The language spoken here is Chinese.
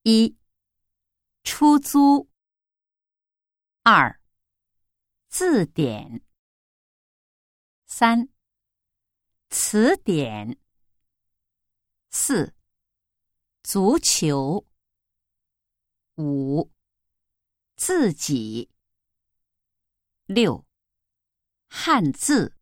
1. 出租。2. 字典。3. 词典。4. 足球。5. 自己。6. 汉字。